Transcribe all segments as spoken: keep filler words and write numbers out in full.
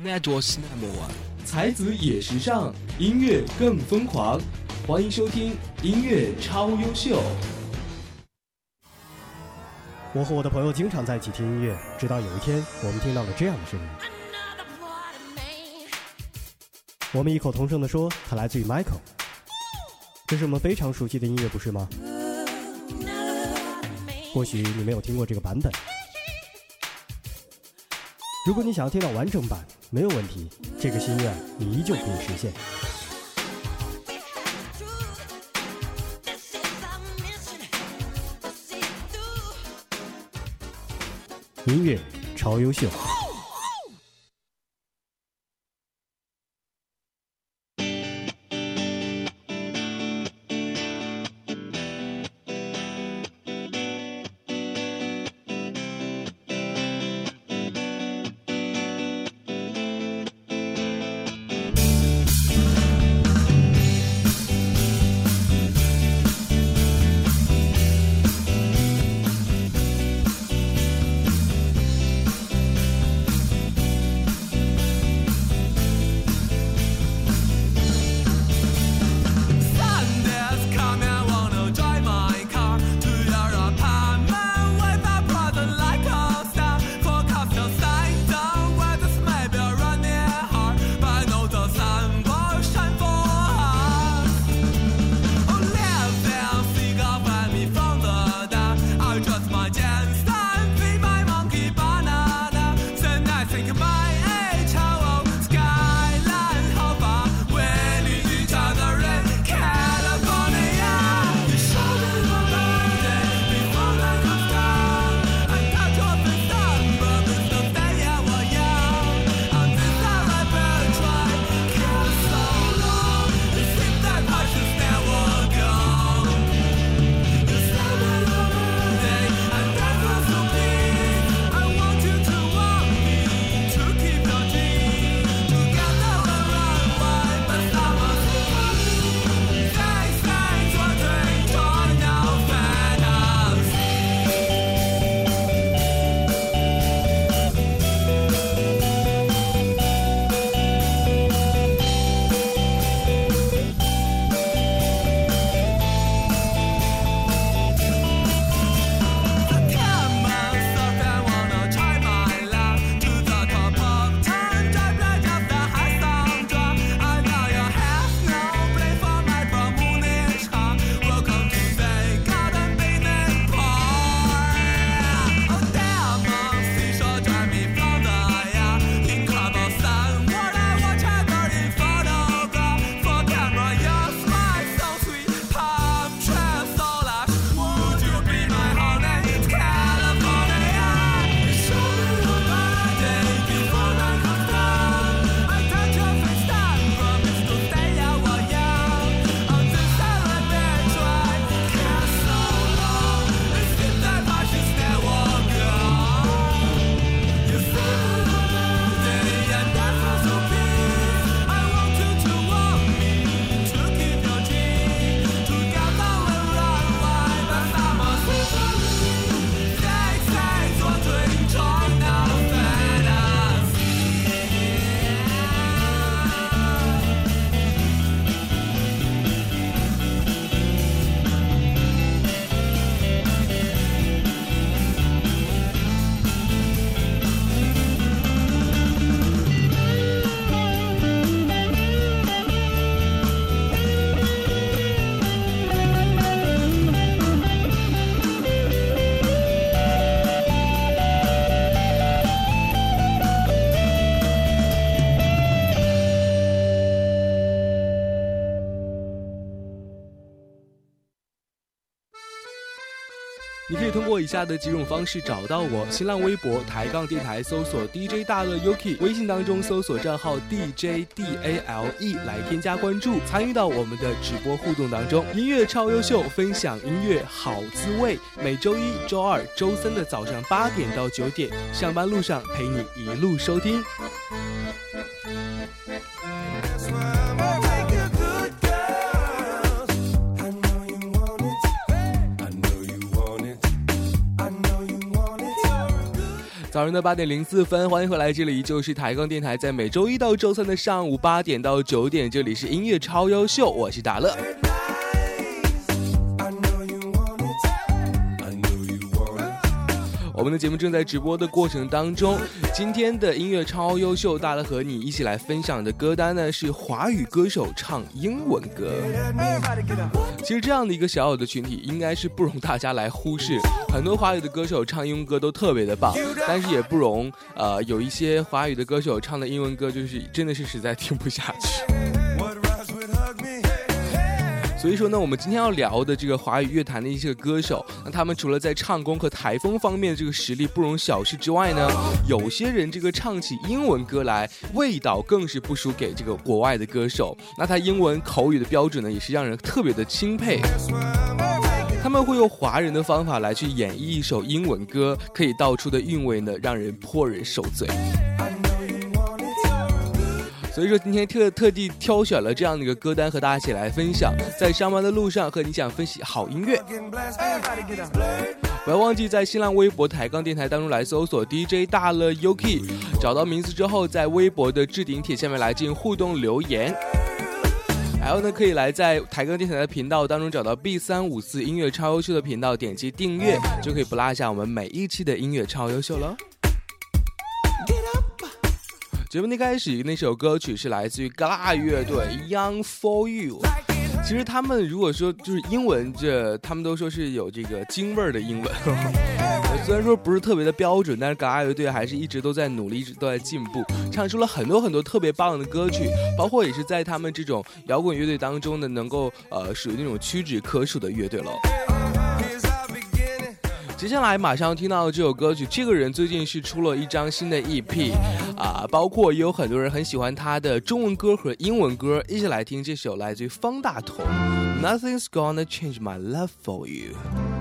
那多是那么晚。 才子也时尚，音乐更疯狂。欢迎收听音乐超优秀。 我和我的朋友经常在一起听音乐，直到有一天我们听到了这样的声音。我们异口同声地说它来自于 Michael。 这是我们非常熟悉的音乐，不是吗？或许你没有听过这个版本，如果你想要听到完整版，没有问题，这个心愿你依旧可以实现。音乐超优秀。 你可以通过以下的几种方式找到我：新浪微博抬杠电台搜索 D J 大乐 Yuki， 微信当中搜索账号 D J D A L E 来添加关注，参与到我们的直播互动当中。音乐超优秀，分享音乐好滋味。每周一、周二、周三的早上八点到九点，上班路上陪你一路收听。 早上的八点零四分，欢迎回来，这里依旧是抬杠电台，在每周一到周三的上午八点到九点，这里是音乐超优秀，我是达乐。我们的节目正在直播的过程当中，今天的音乐超优秀，大乐和你一起来分享的歌单呢是华语歌手唱英文歌。其实这样的一个小小的群体应该是不容大家来忽视，很多华语的歌手唱英文歌都特别的棒，但是也不容呃有一些华语的歌手唱的英文歌就是真的是实在听不下去。所以说呢，我们今天要聊的这个华语乐坛的一些歌手，那他们除了在唱功和台风方面这个实力不容小视之外呢，有些人这个唱起英文歌来味道更是不输给这个国外的歌手，那他英文口语的标准呢也是让人特别的钦佩。他们会用华人的方法来去演绎一首英文歌，可以道出的韵味呢让人颇人受罪。所以说今天特特地挑选了这样的一个歌单和大家一起来分享，在上班的路上和你讲分析好音乐。不要忘记在新浪微博抬杠电台当中来搜索 D J 大乐 Yuki， 找到名字之后在微博的置顶帖下面来进行互动留言。还有呢，可以来在抬杠电台的频道当中找到 B 三五四 音乐超优秀的频道，点击订阅就可以不落下我们每一期的音乐超优秀了。节目的开始，那首歌曲是来自于嘎啦乐队 Young for You。 其实他们如果说就是英文，这他们都说是有这个京味儿的英文虽然说不是特别的标准，但是嘎啦乐队还是一直都在努力，一直都在进步，唱出了很多很多特别棒的歌曲，包括也是在他们这种摇滚乐队当中呢能够呃属于那种屈指可数的乐队了。接下来马上听到这首歌曲，这个人最近是出了一张新的 E P 啊，包括也有很多人很喜欢他的中文歌和英文歌，一起来听这首来自于方大同 Nothing's Gonna Change My Love For You。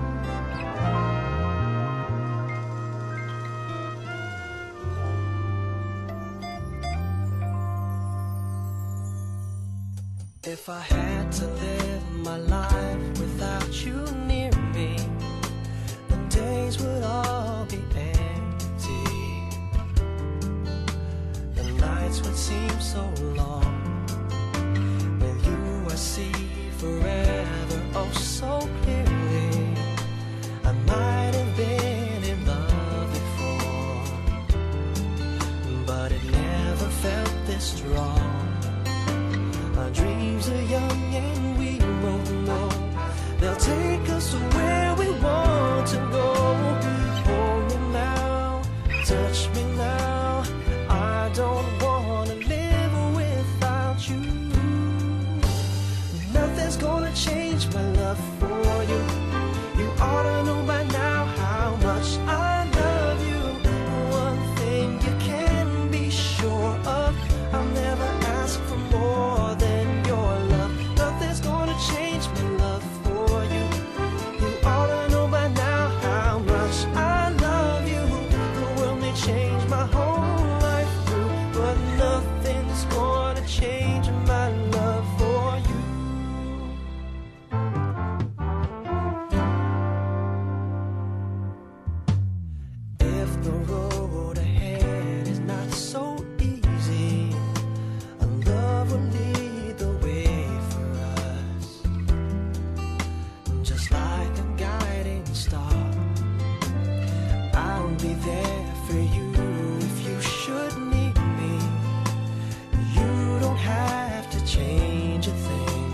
If I had to live my life without you near me, days would all be empty. The nights would seem so long. With you I see forever oh so clearly. I might have been in love before, but it never felt this strong. Our dreams are young and we both know they'll take us where we want to go. Hold me now, touch me now. I don't wanna live without you. Nothing's gonna change my love for you. You ought to know by now how much I love you. One thing you can be sure of, I'll never ask for more than your love. Nothing's gonna change my love for you. You ought to know by now how much I love you. The world may change my whole life through, but nothing's gonna change my love for you. If the road ahead is not so easy, a love will lead the way for us, just like a guiding star. I'll be there for you if you should need me. You don't have to change a thing.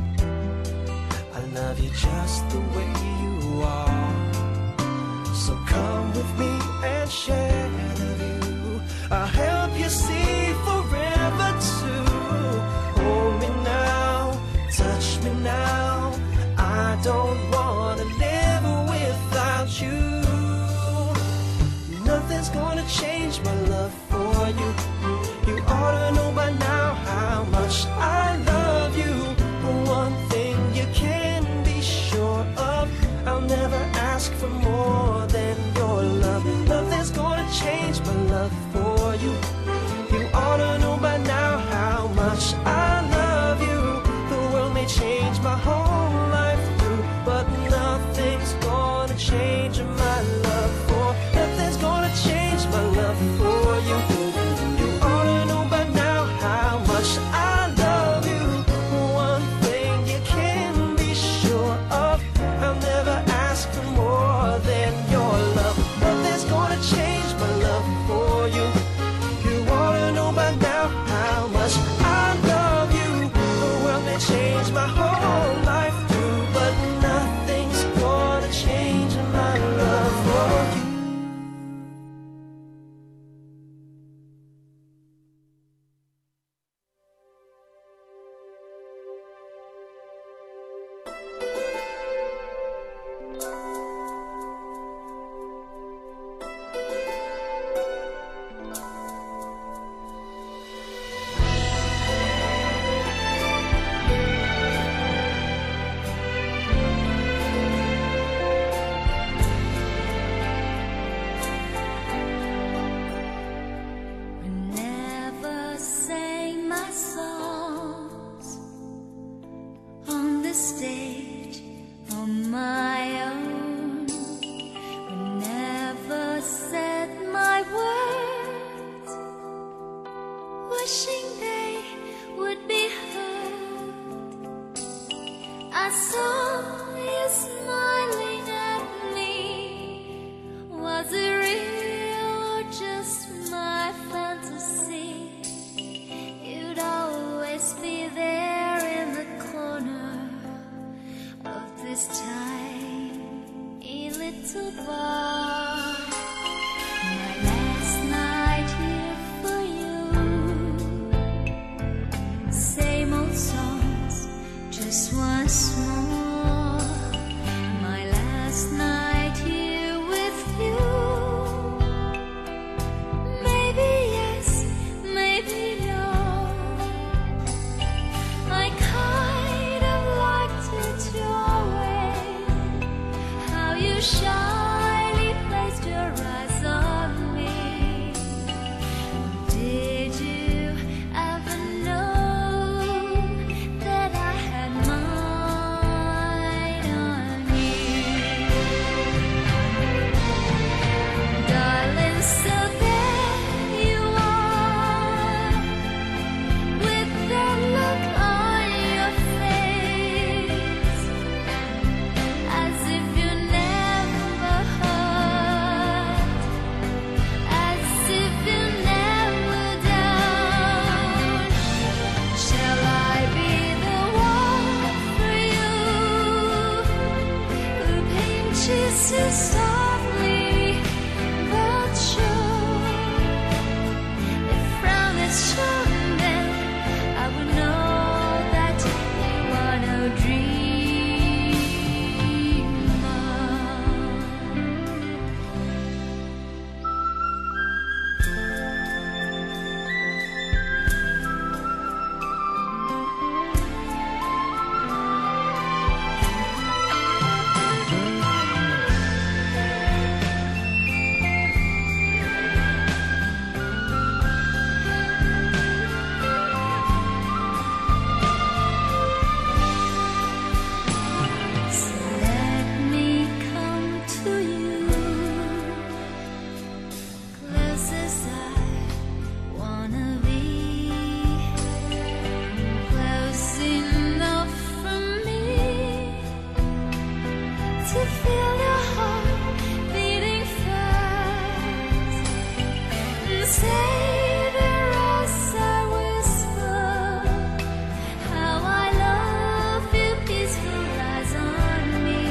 I love you just the way you are. So come with me and share the view. I'll help you see forever too. Hold me now, touch me now. I don't wanna live without you. Nothing's gonna change my love for you. You ought to know by now how much I love you. One thing you can be sure of, I'll never ask for more than your love. Nothing's gonna change my love for you. You ought to know by now how much I love you. The world may change my whole life through, but nothing's gonna change my love for. Nothing's gonna change wishing they would be heard. I saw you smiling at me. Was it real or just my fantasy? You'd always be there in the corner of this tiny little bar. My last night here for you. Same old songs, just once more. My last night here with you. Maybe yes, maybe no. I kind of liked it your way, how you shyly placed your eyes on me. Did you ever know that I had mine on you? Darling, so there you are, with that look on your face, as if you never hurt, as if you never down. Shall I be the one for you, who paints you so softly but sure? If frown is shown, then I would know that you are no dreamer. So let me come to you, close as I wanna be, close enough for me to feel your heart beating fast, and savor as I whisper how I love you, peaceful eyes on me.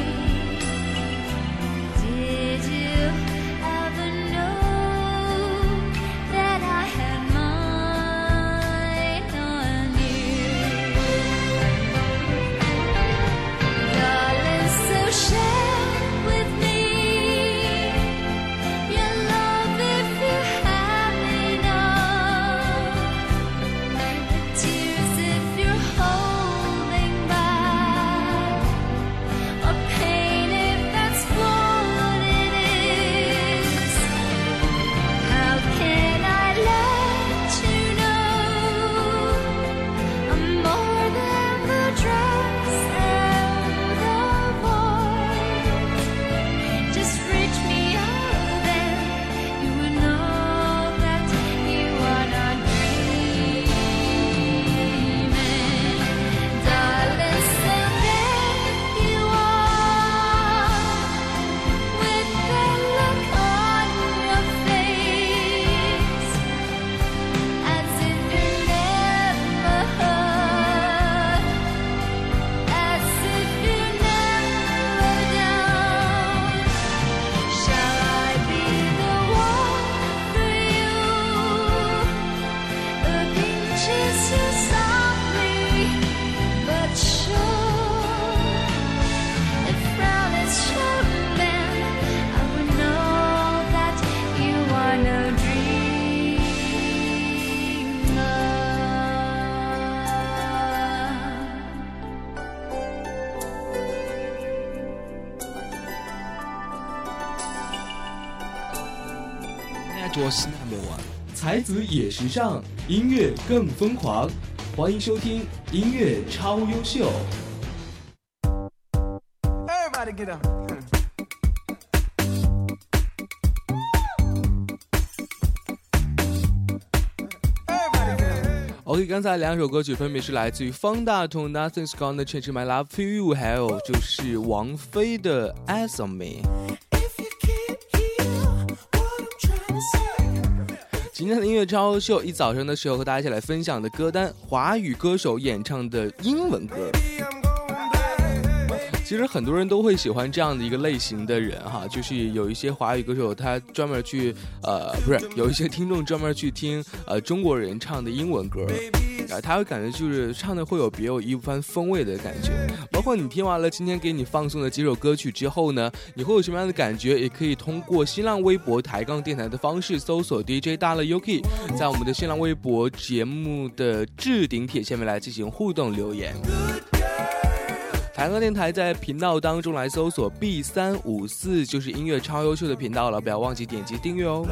Did you ever know that I had mine on you? Darling, so share with me your love if you have enough. Tears if you're holding back, or pain if that's what it is. How can I let you know I'm more than the dress and the voice? Just reach me out and you will know that you are not dreaming. Darling, so there you are, with that look on your face, as if you never hurt, as if you never down. Shall I be the one for you, who pinches you softly but sure? If frown is shown, then I would know that you are no dreamer. 才子也时尚，音乐更疯狂。欢迎收听音乐超优秀。 Everybody get up. Everybody get up. OK， 刚才两首歌曲分别是来自于方大同 Nothing's Gonna Change My Love For You， 还有就是王菲的 Eyes On Me。 今天的音乐超优秀，一早上的时候和大家一起来分享的歌单，华语歌手演唱的英文歌。其实很多人都会喜欢这样的一个类型的人哈，就是有一些华语歌手他专门去呃不是有一些听众专门去听呃中国人唱的英文歌，啊他会感觉就是唱的会有别有一番风味的感觉。包括你听完了今天给你放送的几首歌曲之后呢，你会有什么样的感觉，也可以通过新浪微博抬杠电台的方式搜索 D J 大乐 Yuki， 在我们的新浪微博节目的置顶帖下面来进行互动留言。抬杠电台在频道当中来搜索 B 三五四，就是音乐超优秀的频道了，不要忘记点击订阅哦。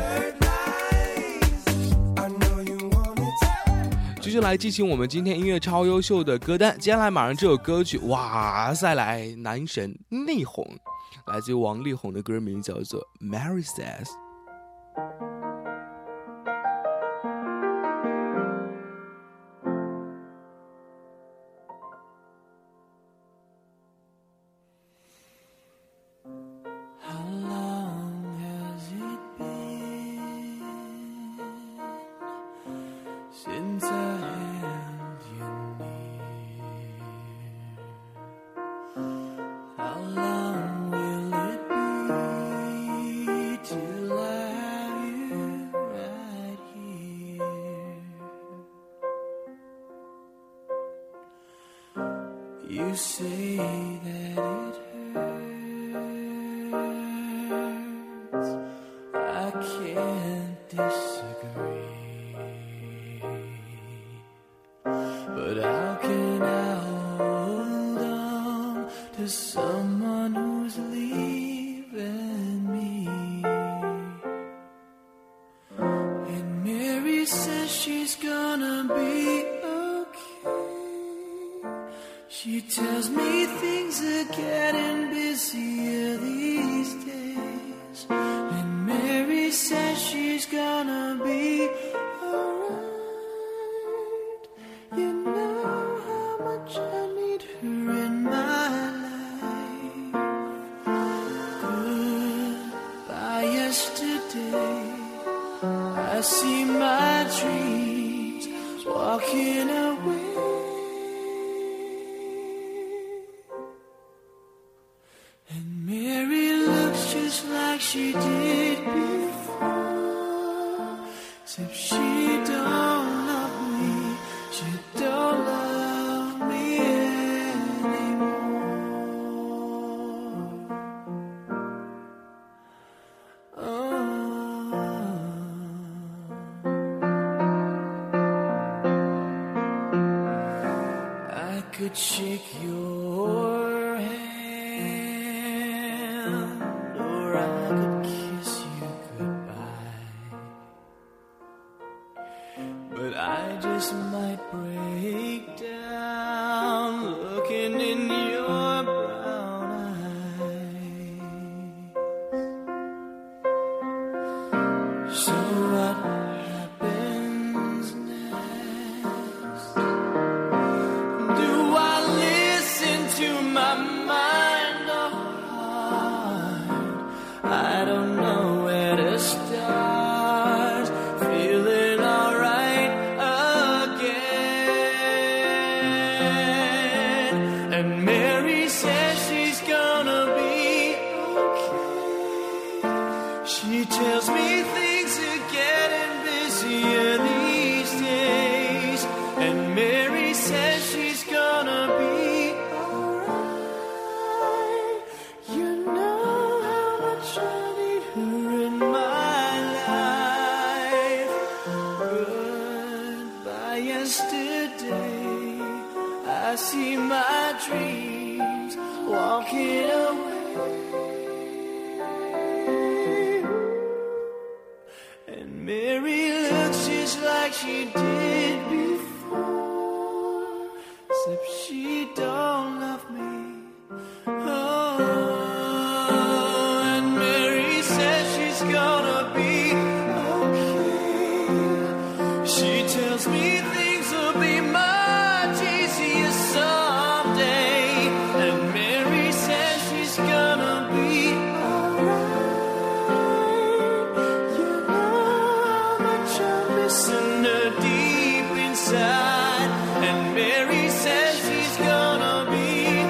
继续来进行我们今天音乐超优秀的歌单，接下来马上这首歌曲，哇塞来男神内荨，来自于王力宏的歌名叫做 Mary says。You say that it hurts, I can't disagree, but how can I hold on to someone who's leaving me? And Mary says she's gonna be She tells me things are getting busier these days, and Mary says she's gonna be alright. You know how much I need her in my life. Goodbye yesterday, I see my dreams walking away. Like she did before, except she don't love me, she don't love me anymore. Oh, I could shake your hand, I could kiss you goodbye, but I just might break down looking in your brown eyes. So what happens next? Do I listen to my mind or heart? I don't know where to start, feeling alright again. And Mary says she's gonna be okay. She tells me things are getting busier these days, and Mary says she's gonna be alright. You know how much I need her in my life. Goodbye yesterday, I see my dreams walking away. And Mary looks just like she did before, except she don't love me. Oh, and Mary says she's gonna be okay. She tells me things are be much easier someday. And Mary says she's gonna be alright. You know how much I'm missing her deep inside. And Mary says she's gonna be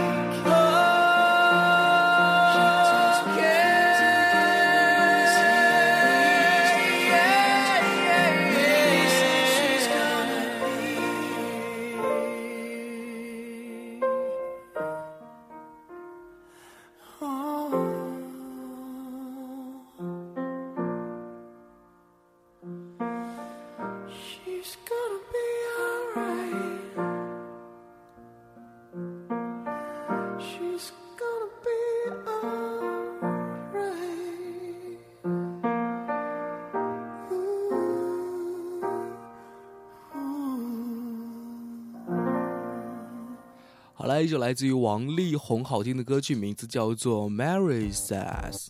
好来一首来自于王力宏好听的歌曲，名字叫做 Mary Says。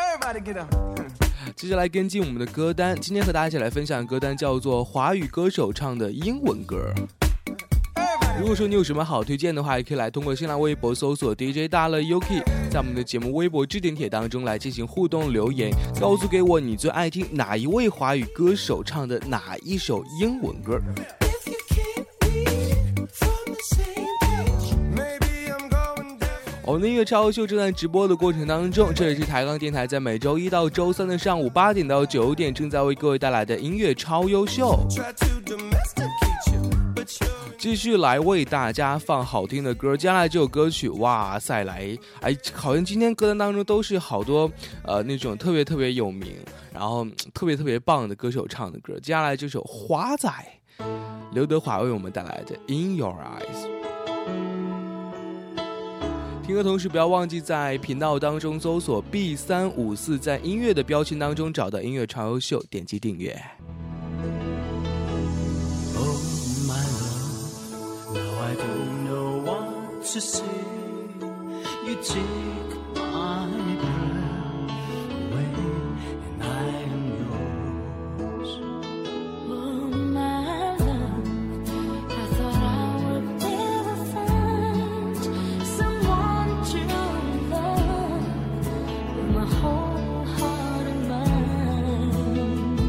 接下来跟进我们的歌单，今天和大家一起来分享的歌单叫做华语歌手唱的英文歌。如果说你有什么好推荐的话，也可以来通过新浪微博搜索 D J 大乐 Yuki， 在我们的节目微博置顶帖当中来进行互动留言，告诉给我你最爱听哪一位华语歌手唱的哪一首英文歌。我们的音乐超秀正在直播的过程当中，这里是台钢电台在每周一到周三的上午八点到九点正在为各位带来的音乐超优秀，继续来为大家放好听的歌。接下来这首歌曲，哇塞来，哎，好像今天歌单当中都是好多呃那种特别特别有名，然后特别特别棒的歌手唱的歌。接下来这首花仔，刘德华为我们带来的 In Your Eyes。听歌同时不要忘记在频道当中搜索 B 三五四，在音乐的标签当中找到音乐超优秀，点击订阅。 Oh my love, now I don't know what to say. You take my breath away and I am yours. Oh my love, I thought I would never find someone to love with my whole heart and mind.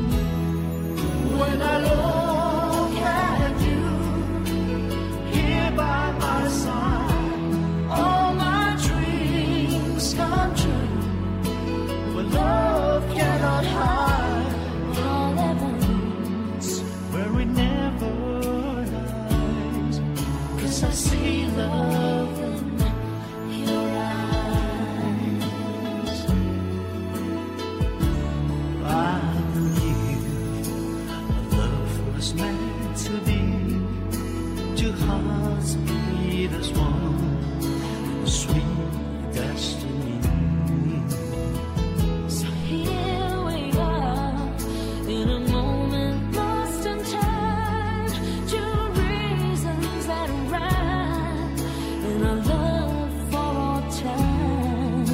When I look at you here by my side, all my dreams come true. When love cannot hide, All heavens, where it never lies, 'cause I see love in your eyes. I believe a love was meant to be, two hearts beat as one, a sweet destiny. so here we are in a moment lost in time, two reasons that rhyme in our love for all time.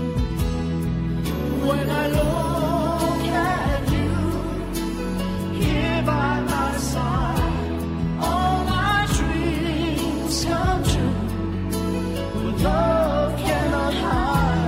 When I look at you here by my side, all my dreams come true. When love cannot hide,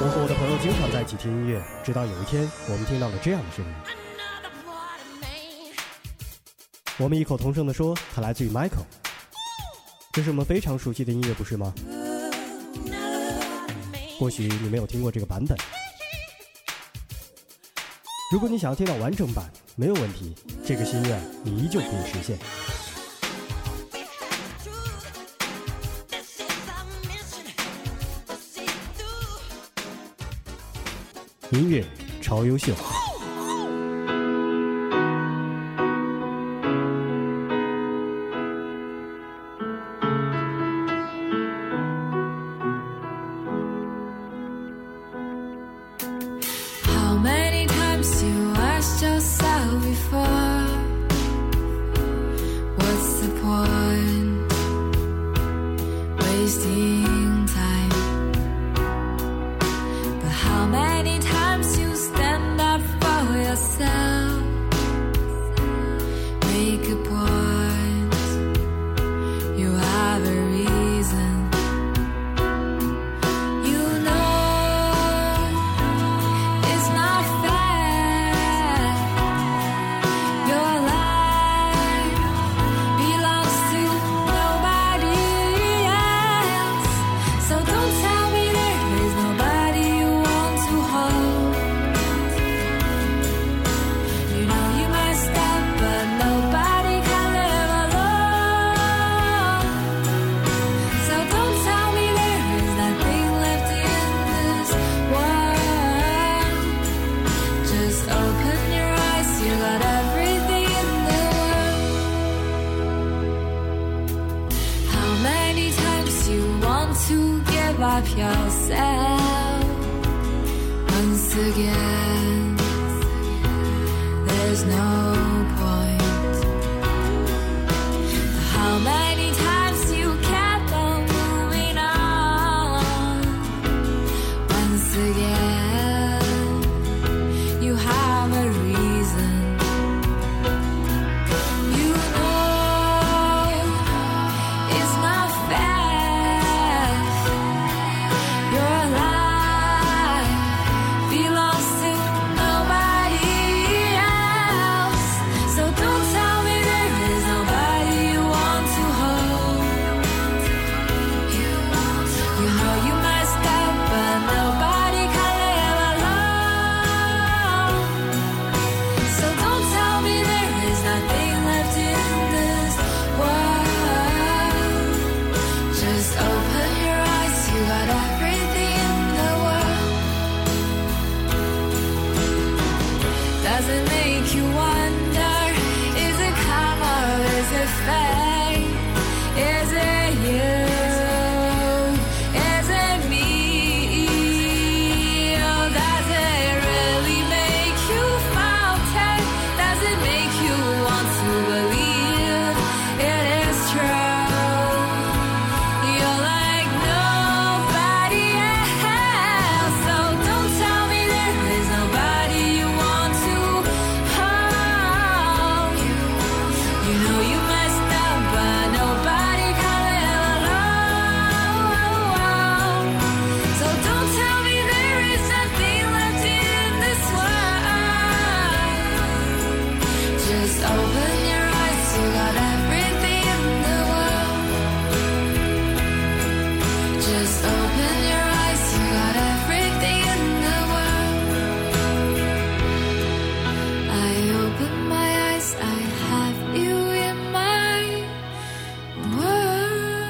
和我的朋友经常在一起听音乐，直到有一天我们听到了这样的声音。我们异口同声地说它来自于 Michael， 这是我们非常熟悉的音乐，不是吗？或许你没有听过这个版本，如果你想要听到完整版，没有问题，这个心愿你依旧可以实现。音乐超优秀。 Yourself once again, there's no point. How many times you kept on moving on? Once again, you have a reason. You know it's not fair. Does it make you wonder, is it karma or is it fate? Is it you? Is it me? Oh, does it really make you falter? Does it make you want to believe it is true? You're like nobody else, so don't tell me there is nobody you want to. You know you messed up, but nobody can live alone. So don't tell me there is nothing left in this world. Just open your eyes, you got everything in the world. Just open your eyes, you got everything in the world. I open my eyes, I have you in my world.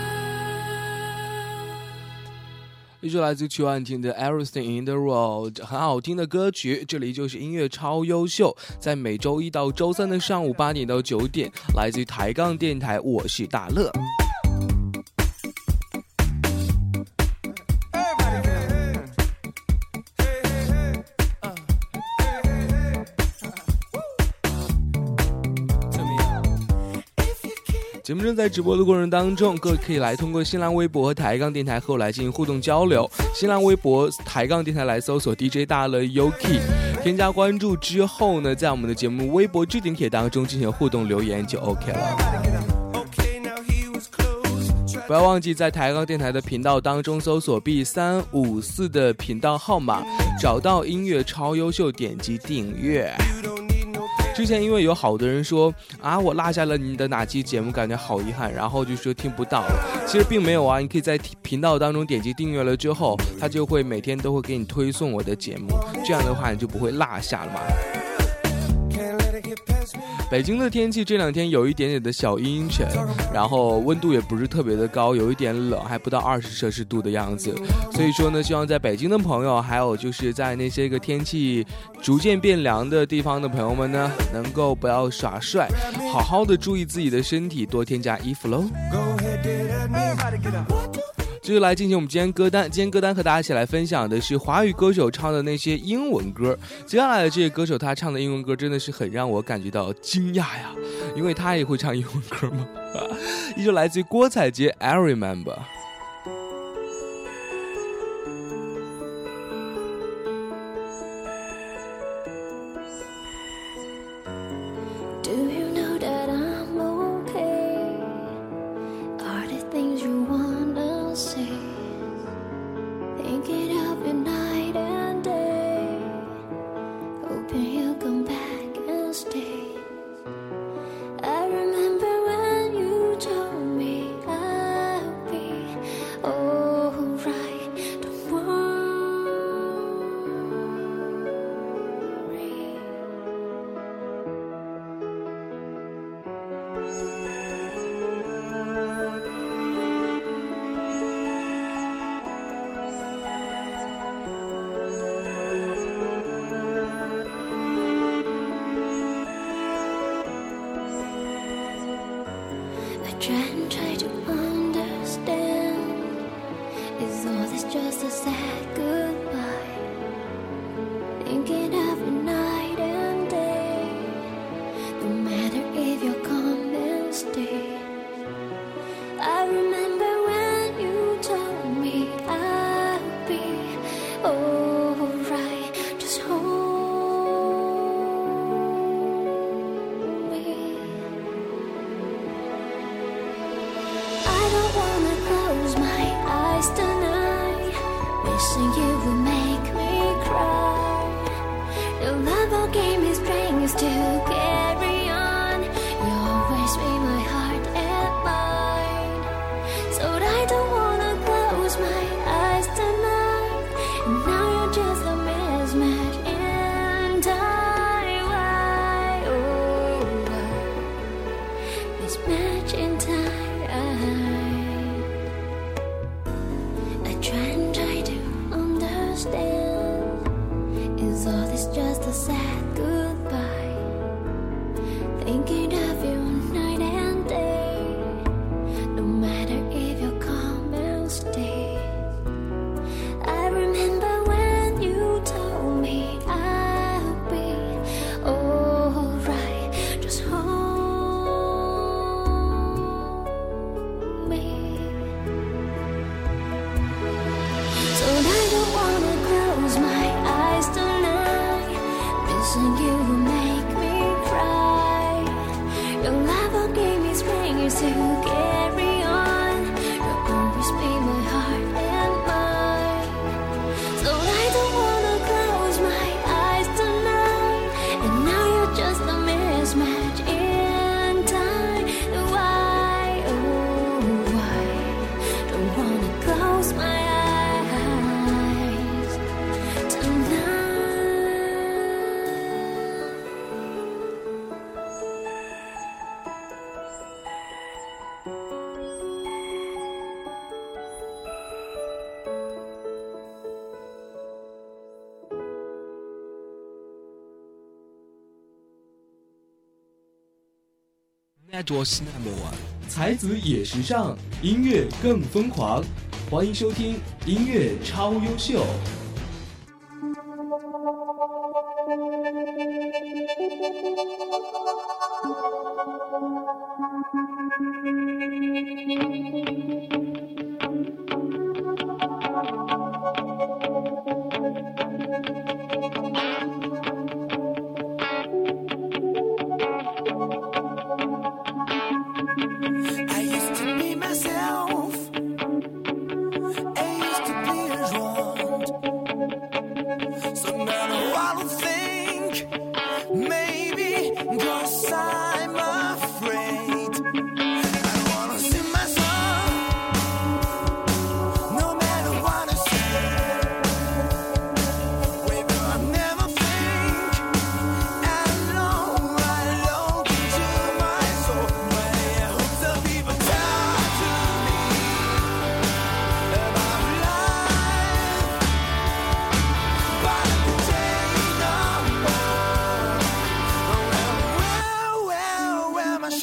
一首来自曲婉婷的 Everything in the World， 很好听的歌曲。这里就是音乐超优秀，在每周一到周三的上午八点到九点，来自于抬杠电台，我是大乐。节目正在直播的过程当中，各位可以来通过新浪微博和抬杠电台和我来进行互动交流。新浪微博抬杠电台来搜索 D J 大乐 Yuki， 添加关注之后呢，在我们的节目微博置顶帖当中进行互动留言就 OK 了。 不要忘记在抬杠电台的频道当中搜索 B 三五四的频道号码，找到音乐超优秀，点击订阅。之前因为有好多人说啊，我落下了你的哪期节目，感觉好遗憾，然后就说听不到了。其实并没有啊，你可以在频道当中点击订阅了之后，它就会每天都会给你推送我的节目，这样的话你就不会落下了嘛。北京的天气这两天有一点点的小阴沉，然后温度也不是特别的高，有一点冷，还不到二十摄氏度的样子。所以说呢，希望在北京的朋友，还有就是在那些个天气逐渐变凉的地方的朋友们呢，能够不要耍帅，好好的注意自己的身体，多添加衣服喽。继续来进行我们今天歌单，今天歌单和大家一起来分享的是华语歌手唱的那些英文歌。接下来的这个歌手他唱的英文歌真的是很让我感觉到惊讶呀，因为他也会唱英文歌吗？依旧来自于郭采洁 I Remember。 Try and try to understand. Is all this just a sad goodbye? Thinking every night and day. No matter if you'll come and stay. I remember when you told me I'll be alright. Just hold you will make me cry. Your love all gave me strength to carry on. You always be my heart and mind. So I don't wanna close my eyes tonight. And now you're just a mismatch in time. Why, oh why, mismatch in time. I try and try to understand. Is all this just a sad goodbye? Thinking of you night and day. No matter if you come and stay. I remember when you told me I'll be alright. Just hold me. So I don't wanna close my eyes tonight. Missing you will make me cry. Your love will give me strength to carry on. You'll always be my heart and mind. So I don't wanna close my eyes tonight. And now you're just a mismatch in time. Why, oh why, don't wanna close my eyes. That was number one。才子也时尚，音乐更疯狂。欢迎收听音乐超优秀。 I used to be myself.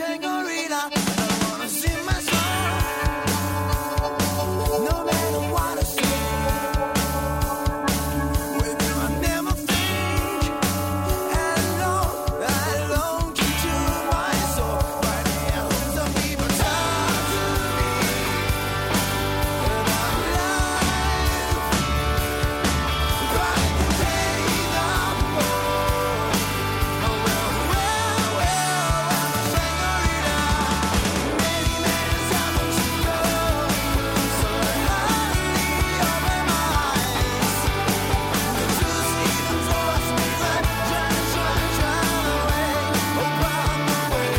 senorita. I wanna sing my song, no matter what I say. With you I never think, and long, I long to do my soul. But yeah, some people talk to me about life, trying to take them home. Oh well, well, well, I'm a senorita. Many, many times to go, so I hardly open my eyes. The truth even forced me back, trying, trying, trying away, oh, run away.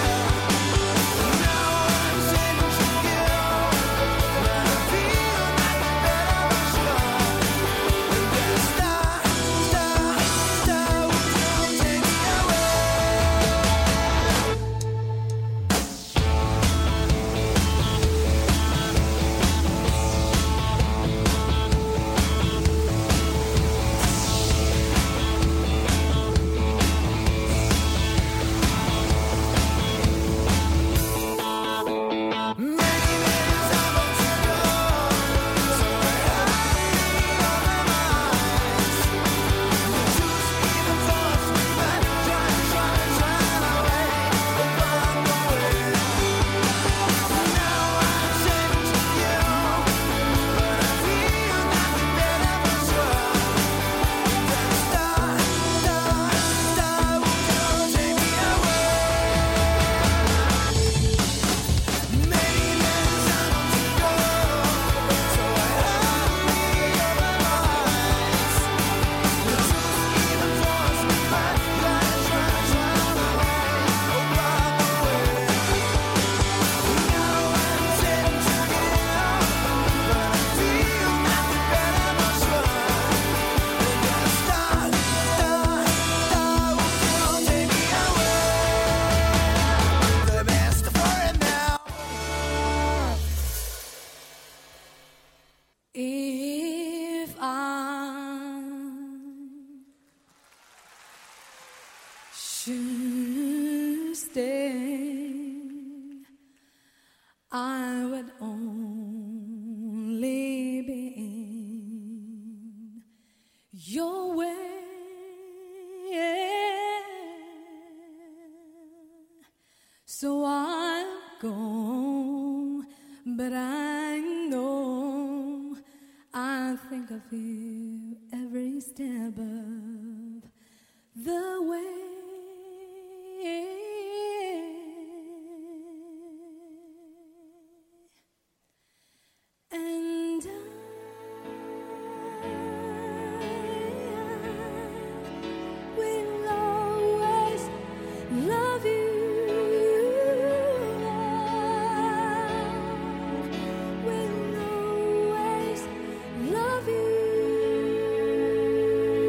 Now I'm saying to you, but I feel like a better version. And that star, star, star will take me away. Many, many times to go, so I hardly open my eyes. The truth even forced me back, trying, trying, trying away, oh, run away. Now I'm saying to you, but I feel like a better version. That star, star, star will take me away. Many, many times to go, so I hardly open my eyes. The truth even forced me back, trying, trying, trying away, oh, run away. Now I'm saying to you, but I feel like a better version. That star, star, star will take me away. The best for it now. If I should stay, I would only be in your way. So I'll go, but I know I think of you every step of the way. And I will always love you. Will always love you.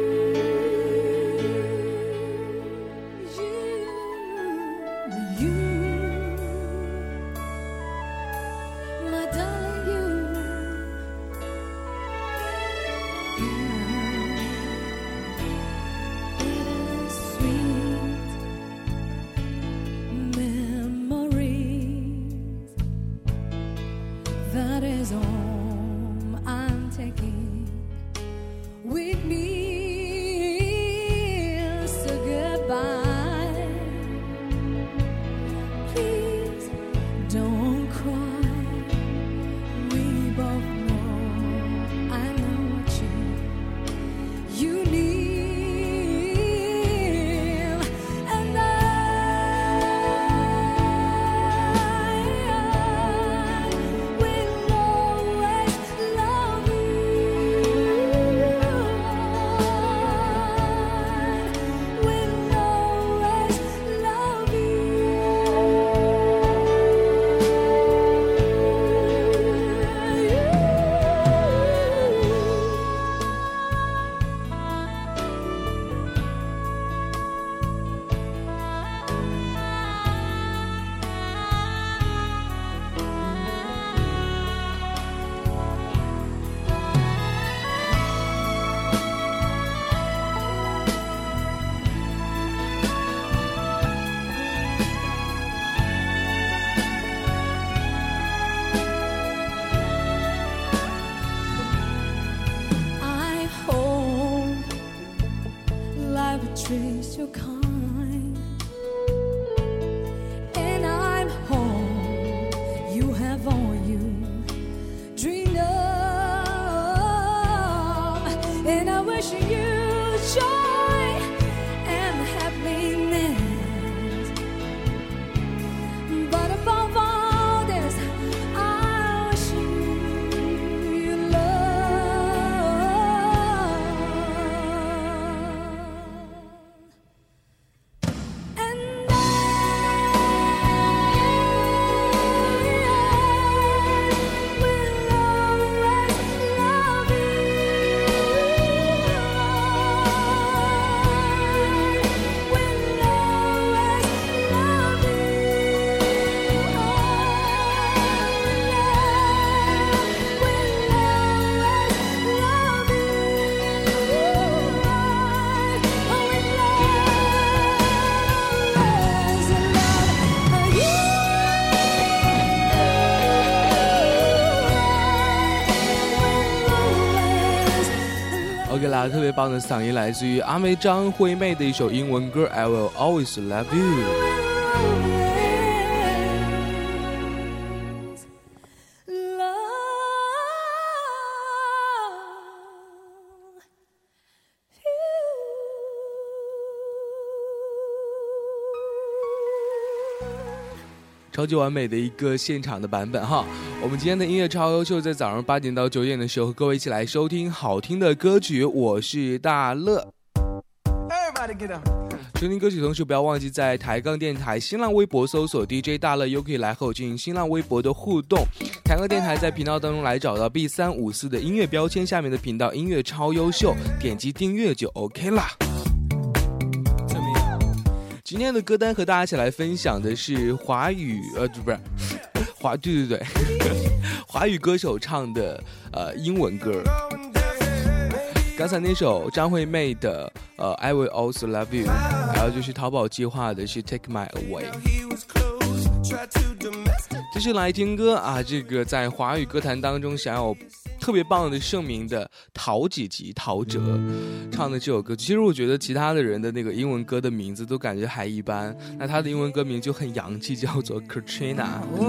wishing you joy and happiness. But above all this, I wish you love. And OK 啦，特别棒的嗓音来自于阿妹张惠妹的一首英文歌 I Will Always Love You。超级完美的一个现场的版本哈！我们今天的音乐超优秀，在早上八点到九点的时候，和各位一起来收听好听的歌曲。我是大乐。收听歌曲同时，不要忘记在抬杠电台新浪微博搜索 D J 大乐，又可以来和我进行新浪微博的互动。抬杠电台在频道当中来找到 B 三五四的音乐标签下面的频道音乐超优秀，点击订阅就 OK 啦。今天的歌单和大家一起来分享的是华语呃不是华对对对华语歌手唱的呃英文歌。刚才那首张惠妹的呃 I Will Always Love You， 还有就是淘宝计划的是 Take My Away。这是来听歌啊，这个在华语歌坛当中享有特别棒的盛名的陶几吉陶喆唱的这首歌。其实我觉得其他的人的那个英文歌的名字都感觉还一般，那他的英文歌名就很洋气，叫做 Katrina。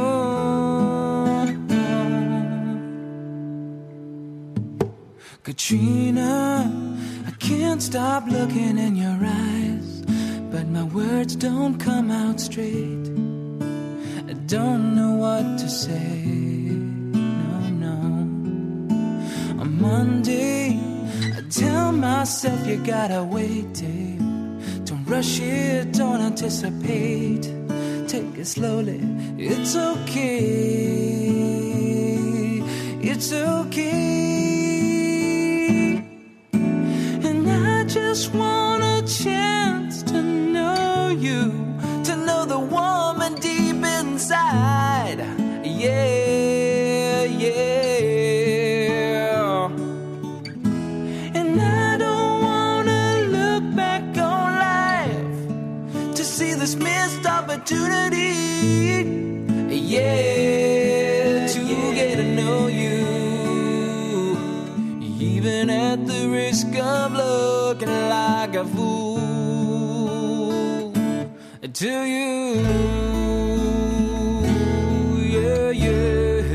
Katrina, I can't stop looking in your eyes, but my words don't come out straight. I don't know what to say, no, no. On Monday, I tell myself you gotta wait, Dave. Don't rush it, don't anticipate. Take it slowly, it's okay, it's okay.And I just want a chance to know you, to know the woman deep inside. Yeah, yeah. And I don't want to look back on life to see this missed opportunity. Yeah, to get to know you.Even at the risk of looking like a fool to you, yeah, yeah.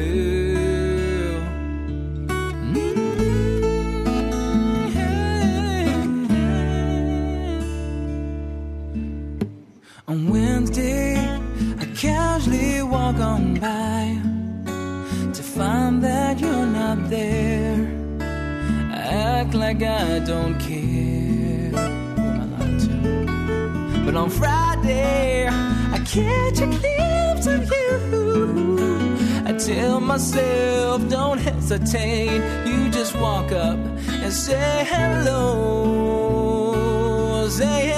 Mm-hmm. On Wednesday, I casually walk on by to find that you're not there.Act like I don't care. Who am I lying to? But on Friday, I catch a glimpse of you. I tell myself, don't hesitate. You just walk up and say hello. Say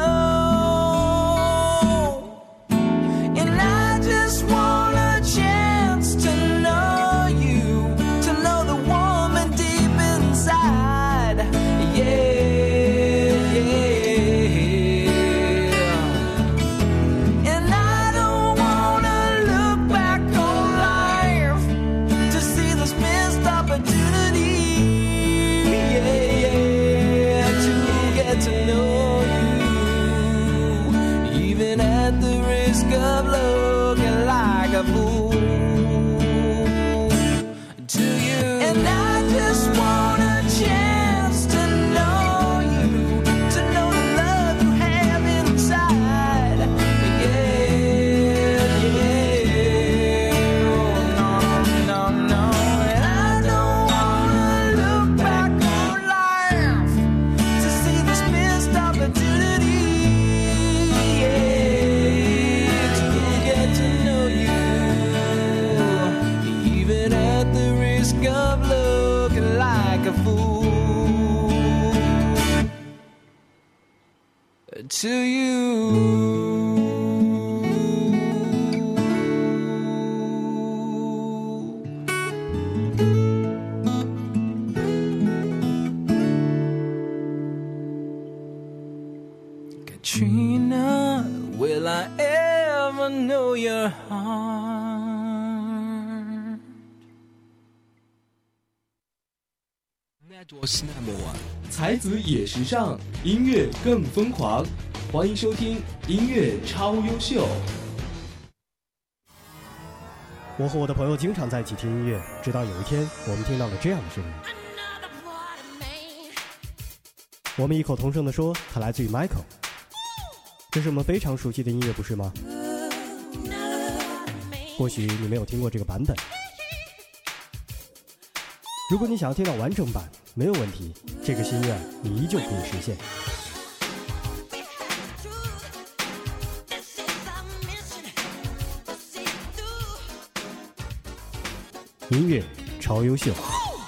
hello.And I just want a chance to know you, to know the woman deep inside. Yeah, yeah. And I don't wanna look back on life to see this missed opportunity. Yeah, yeah, to get to know you, even at the risk of looking like a fool to you. And I just want a chance to know know your heart. 才子也时尚，音乐更疯狂。欢迎收听音乐超优秀。 我和我的朋友经常在一起听音乐，直到有一天，我们听到了这样的声音。我们异口同声地说，它来自于 Michael。这是我们非常熟悉的音乐，不是吗？或许你没有听过这个版本。如果你想要听到完整版，没有问题，这个心愿你依旧可以实现。音乐超优秀。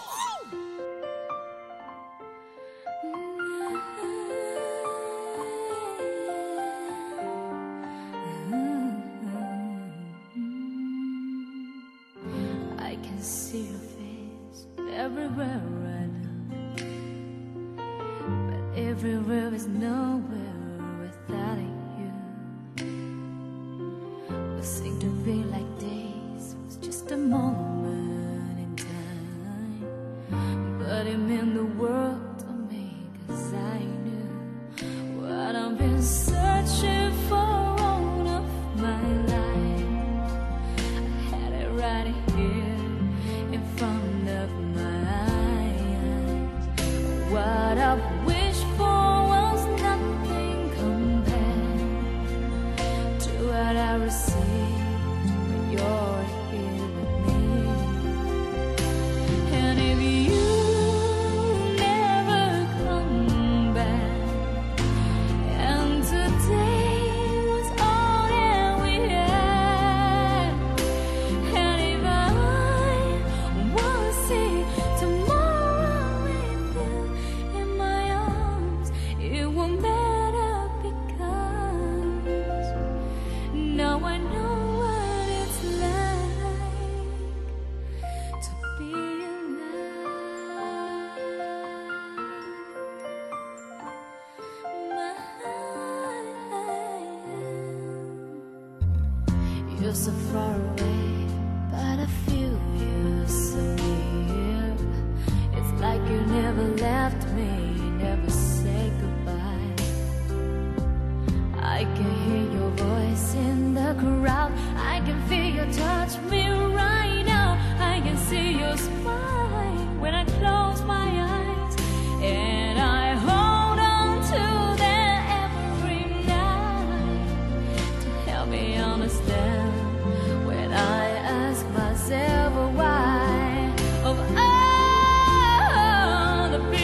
I can see your face everywhere right now, but everywhere is nowhere without you. What seemed to be like days was just a moment in time, but it meant the world to me, 'cause I knew what I've been searching for all of my life. I had it right here in front of my eyes. What I've wished for was nothing compared to what I received when you're here with me. And if you never come back, and today was all that we had, and if I wanna see tomorrow with you in my arms, it won't matter, because now I know what it's like to be alive. You're so far away, but I feel you so near. It's like you never left me, never say goodbye. I can hear your voice in the crowd, I can feel you touch me right now. I can see your smile when I close my eyes, and I hold on to them every night to help me understand when I ask myself why of all the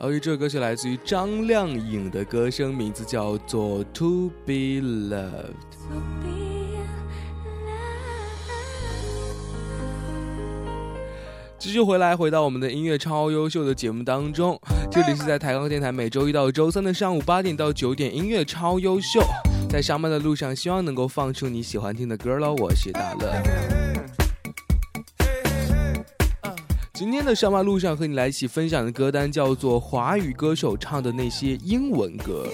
OK， 这首歌曲来自于张靓颖的歌声，名字叫做 To Be Loved。继续回来，回到我们的音乐超优秀的节目当中，这里是在台钢电台每周一到周三的上午八点到九点，音乐超优秀。在上班的路上，希望能够放出你喜欢听的歌喽。我是大乐。今天的上班路上和你来一起分享的歌单叫做华语歌手唱的那些英文歌。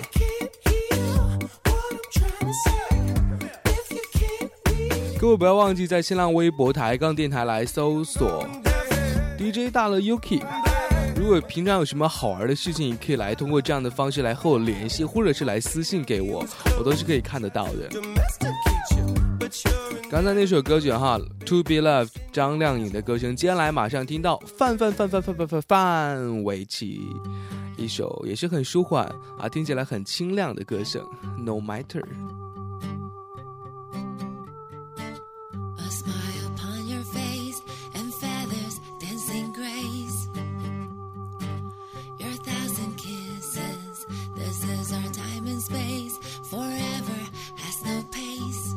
各位不要忘记在新浪微博抬杠电台来搜索 D J 大乐 Yuki。 如果平常有什么好玩的事情，你可以来通过这样的方式来和我联系，或者是来私信给我，我都是可以看得到的。刚才那首歌曲哈 To Be Loved 张靓颖的歌声，接下来马上听到范范范范范范范范玮琪一首也是很舒缓啊，听起来很清亮的歌声 No Matter。 A smile upon your face and feathers dancing grace, your thousand kisses, this is our time and space, forever has no pace.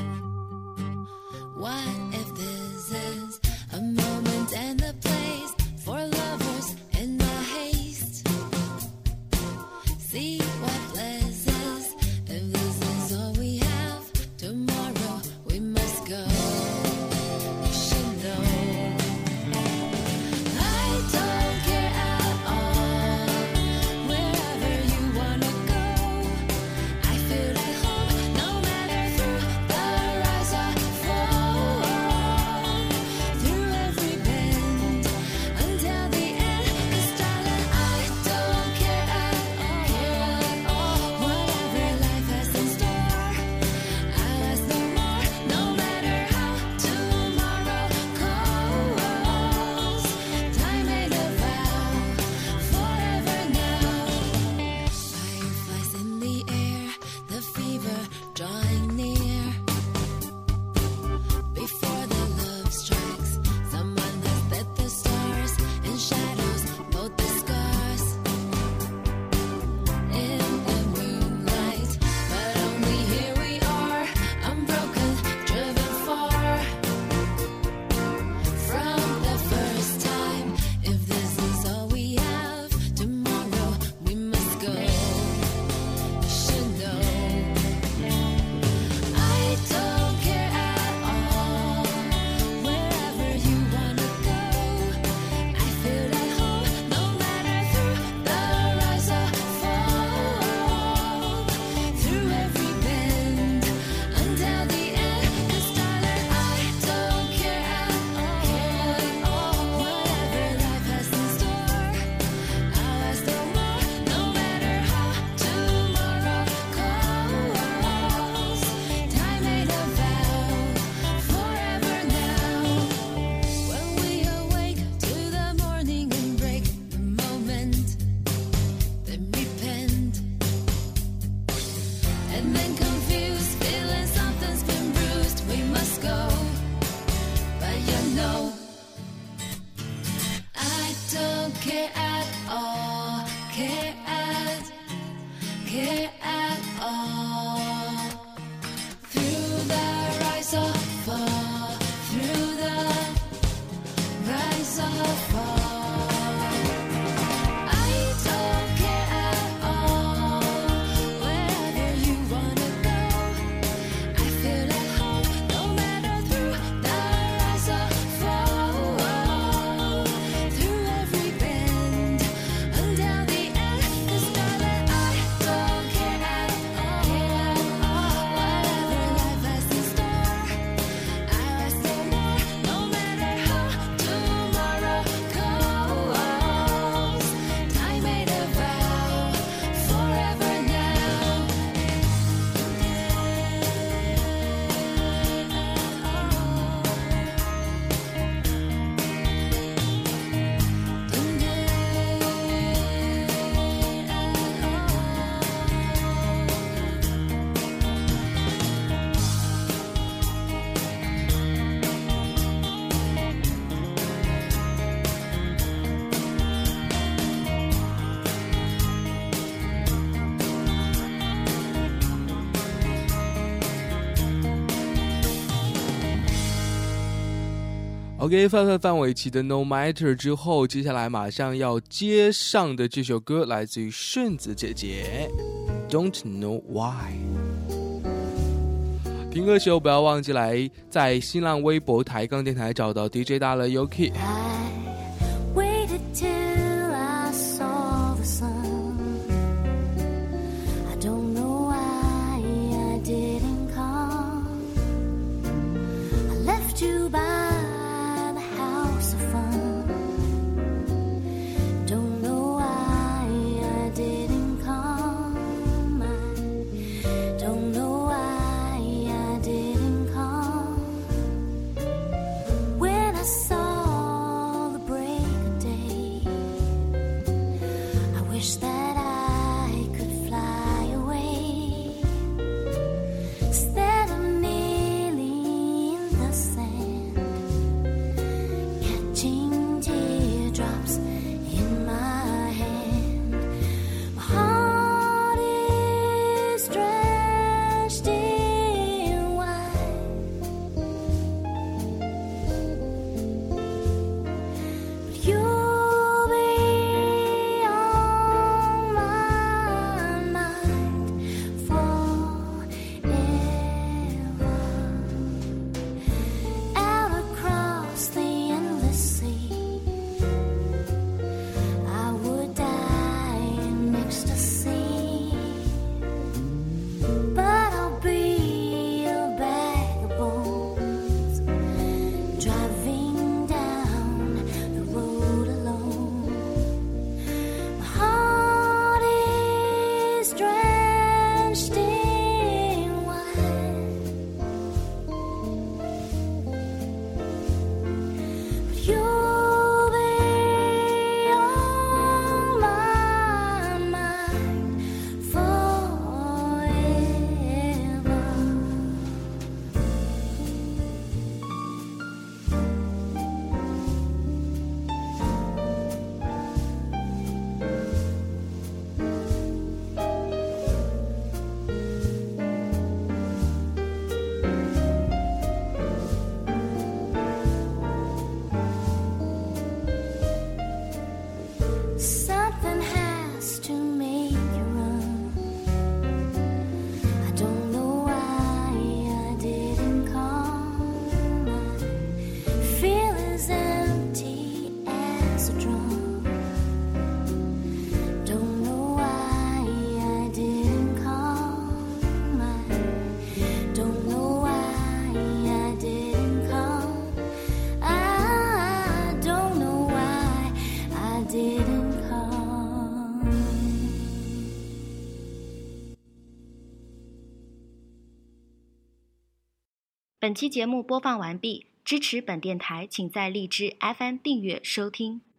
What if this is a moment and a place for lovers in the haste? See what bliss is if this is OK， 范范范玮琪的 No Matter 之后，接下来马上要接上的这首歌来自于顺子姐姐 Don't Know Why。 听歌时候不要忘记来在新浪微博抬杠电台找到 D J 大乐 Yuki。 I waited till I saw the sun. I don't know why I didn't come. I left you by the house of fun. Don't know why I didn't come. I don't know why I didn't come. When I saw the break of day, I wish that I could fly away. Instead of kneeling in the sand, catching teardrops in my hand. My heart is drenched in wine, but you'll be on my mind forever. Out across the endless sea, I would die in ecstasy, but I'll be a bag of bones, driving down the road alone. My heart is drenched in wine, but you'll be on my mind forever. Something has to make you run. I don't know why I didn't come. I feel as empty as a drum. Don't know why I didn't come. I don't know why I didn't come. I don't know why I didn't come. 本期节目播放完毕，支持本电台，请在荔枝 F M 订阅收听。